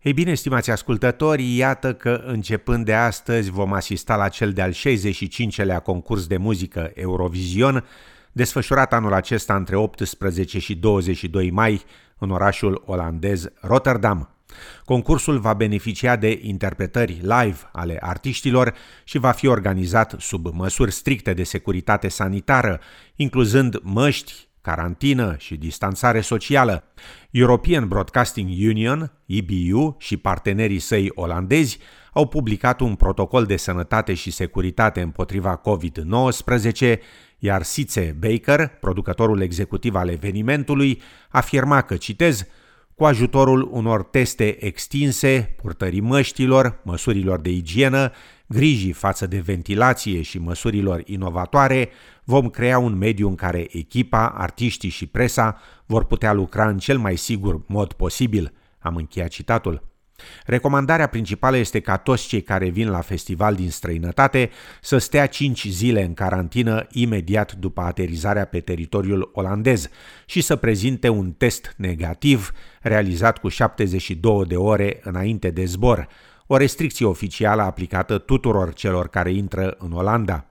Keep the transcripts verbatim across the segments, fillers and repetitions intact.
Ei bine, stimați ascultători, iată că începând de astăzi vom asista la cel de-al șaizeci și cincelea concurs de muzică Eurovision, desfășurat anul acesta între optsprezece și douăzeci și doi mai în orașul olandez Rotterdam. Concursul va beneficia de interpretări live ale artiștilor și va fi organizat sub măsuri stricte de securitate sanitară, incluzând măști, carantină și distanțare socială. European Broadcasting Union, E B U, și partenerii săi olandezi au publicat un protocol de sănătate și securitate împotriva covid nouăsprezece, iar Sietse Baker, producătorul executiv al evenimentului, afirma că, citez, cu ajutorul unor teste extinse, purtării măștilor, măsurilor de igienă, grijii față de ventilație și măsurilor inovatoare, vom crea un mediu în care echipa, artiștii și presa vor putea lucra în cel mai sigur mod posibil. Am încheiat citatul. Recomandarea principală este ca toți cei care vin la festival din străinătate să stea cinci zile în carantină imediat după aterizarea pe teritoriul olandez și să prezinte un test negativ realizat cu șaptezeci și două de ore înainte de zbor, o restricție oficială aplicată tuturor celor care intră în Olanda.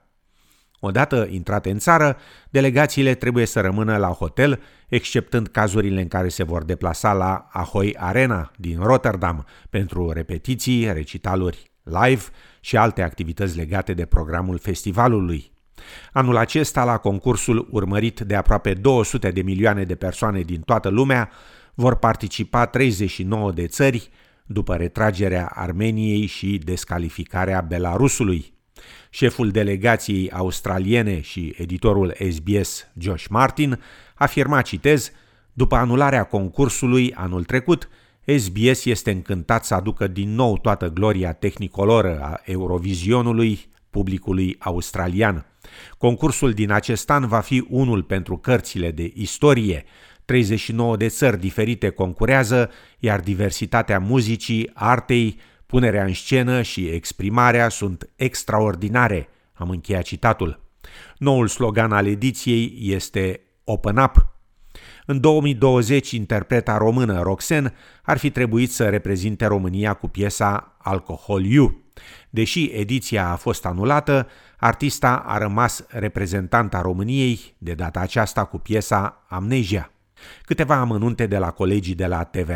Odată intrate în țară, delegațiile trebuie să rămână la hotel, exceptând cazurile în care se vor deplasa la Ahoy Arena din Rotterdam pentru repetiții, recitaluri live și alte activități legate de programul festivalului. Anul acesta, la concursul urmărit de aproape două sute de milioane de persoane din toată lumea, vor participa treizeci și nouă de țări, după retragerea Armeniei și descalificarea Belarusului. Șeful delegației australiene și editorul S B S, Josh Martin, afirma, citez, după anularea concursului anul trecut, S B S este încântat să aducă din nou toată gloria tehnicoloră a Eurovizionului publicului australian. Concursul din acest an va fi unul pentru cărțile de istorie. treizeci și nouă de țări diferite concurează, iar diversitatea muzicii, artei, punerea în scenă și exprimarea sunt extraordinare. Am încheiat citatul. Noul slogan al ediției este Open Up. În două mii douăzeci, interpreta română Roxen ar fi trebuit să reprezinte România cu piesa Alcohol You. Deși ediția a fost anulată, artista a rămas reprezentanta României, de data aceasta cu piesa Amnesia. Câteva amănunte de la colegii de la T V R.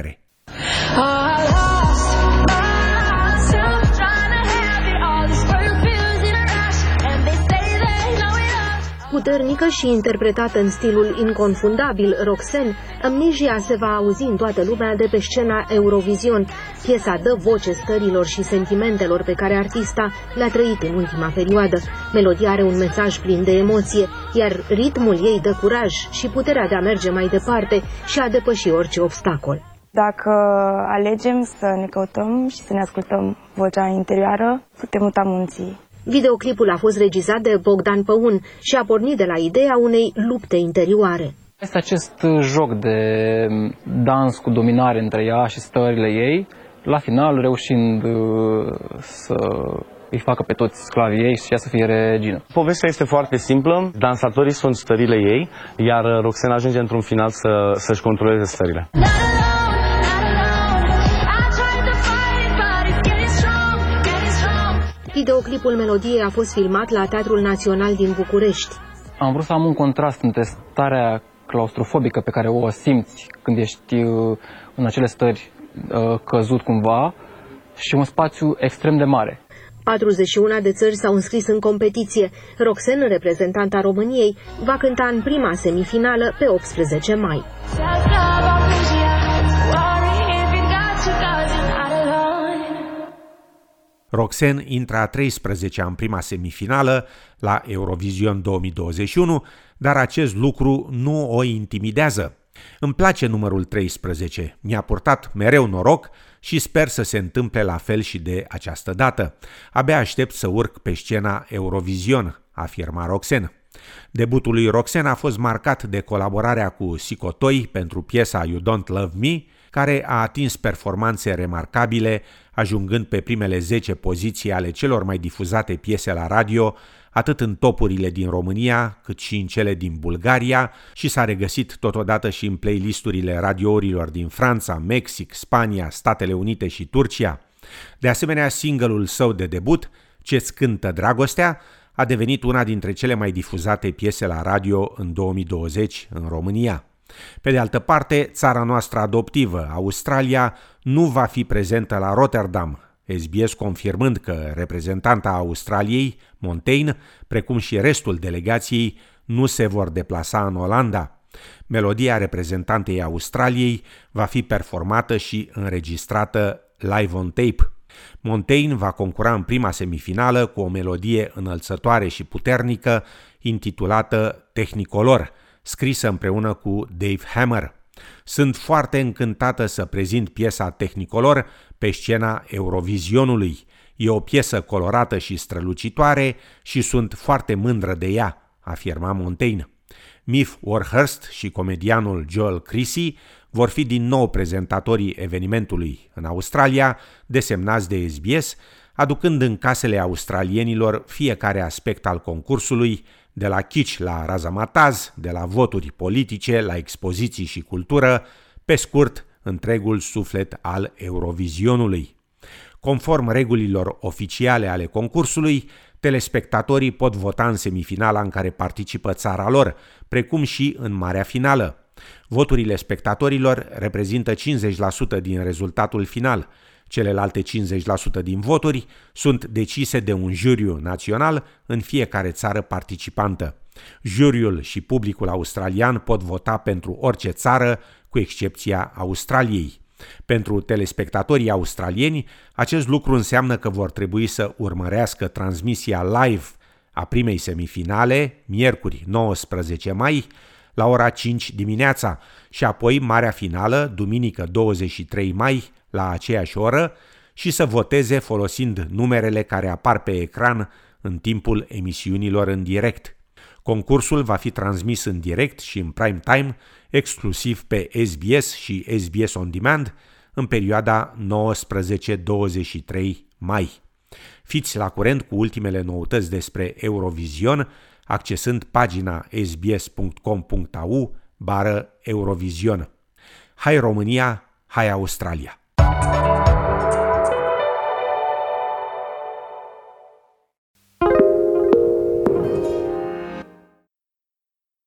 Puternică și interpretată în stilul inconfundabil Roxen, Amnesia se va auzi în toată lumea de pe scena Eurovision. Piesa dă voce stărilor și sentimentelor pe care artista le-a trăit în ultima perioadă. Melodia are un mesaj plin de emoție, iar ritmul ei dă curaj și puterea de a merge mai departe și a depăși orice obstacol. Dacă alegem să ne căutăm și să ne ascultăm vocea interioară, putem muta munții. Videoclipul a fost regizat de Bogdan Păun și a pornit de la ideea unei lupte interioare. Este acest joc de dans cu dominare între ea și stările ei, la final reușind să îi facă pe toți sclavii ei și ea să fie regină. Povestea este foarte simplă, dansatorii sunt stările ei, iar Roxen ajunge într-un final să, să-și controleze stările. Videoclipul melodiei a fost filmat la Teatrul Național din București. Am vrut să am un contrast între starea claustrofobică pe care o simți când ești în acele stări căzut cumva și un spațiu extrem de mare. patruzeci și unu de țări s-au înscris în competiție. Roxen, reprezentanta României, va cânta în prima semifinală pe optsprezece mai. Roxen intră a treisprezecea în prima semifinală la Eurovision două mii douăzeci și unu, dar acest lucru nu o intimidează. Îmi place numărul treisprezece, mi-a purtat mereu noroc și sper să se întâmple la fel și de această dată. Abia aștept să urc pe scena Eurovision, afirma Roxen. Debutul lui Roxen a fost marcat de colaborarea cu Sicotoi pentru piesa You Don't Love Me, care a atins performanțe remarcabile, ajungând pe primele zece poziții ale celor mai difuzate piese la radio atât în topurile din România, cât și în cele din Bulgaria și s-a regăsit totodată și în playlisturile radiourilor din Franța, Mexic, Spania, Statele Unite și Turcia. De asemenea, single-ul său de debut, Ce-ți cântă dragostea, a devenit una dintre cele mai difuzate piese la radio în două mii douăzeci în România. Pe de altă parte, țara noastră adoptivă, Australia, nu va fi prezentă la Rotterdam, S B S confirmând că reprezentanta Australiei, Montaigne, precum și restul delegației, nu se vor deplasa în Olanda. Melodia reprezentantei Australiei va fi performată și înregistrată live on tape. Montaigne va concura în prima semifinală cu o melodie înălțătoare și puternică intitulată Technicolor, scrisă împreună cu Dave Hammer. Sunt foarte încântată să prezint piesa Technicolor pe scena Eurovizionului. E o piesă colorată și strălucitoare și sunt foarte mândră de ea, afirma Montaigne. Mif Warhurst și comedianul Joel Creasy vor fi din nou prezentatorii evenimentului în Australia, desemnați de S B S, aducând în casele australienilor fiecare aspect al concursului, de la kitsch la razamataz, de la voturi politice la expoziții și cultură, pe scurt, întregul suflet al Eurovizionului. Conform regulilor oficiale ale concursului, telespectatorii pot vota în semifinala în care participă țara lor, precum și în marea finală. Voturile spectatorilor reprezintă cincizeci la sută din rezultatul final. Celelalte cincizeci la sută din voturi sunt decise de un juriu național în fiecare țară participantă. Juriul și publicul australian pot vota pentru orice țară, cu excepția Australiei. Pentru telespectatorii australieni, acest lucru înseamnă că vor trebui să urmărească transmisia live a primei semifinale, miercuri nouăsprezece mai, la ora cinci dimineața și apoi marea finală, duminică douăzeci și trei mai, la aceeași oră, și să voteze folosind numerele care apar pe ecran în timpul emisiunilor în direct. Concursul va fi transmis în direct și în prime time, exclusiv pe S B S și S B S On Demand, în perioada nouăsprezece douăzeci și trei mai. Fiți la curent cu ultimele noutăți despre Eurovision, accesând pagina sbs punct com punct a u bară Eurovision. Hai România, hai Australia!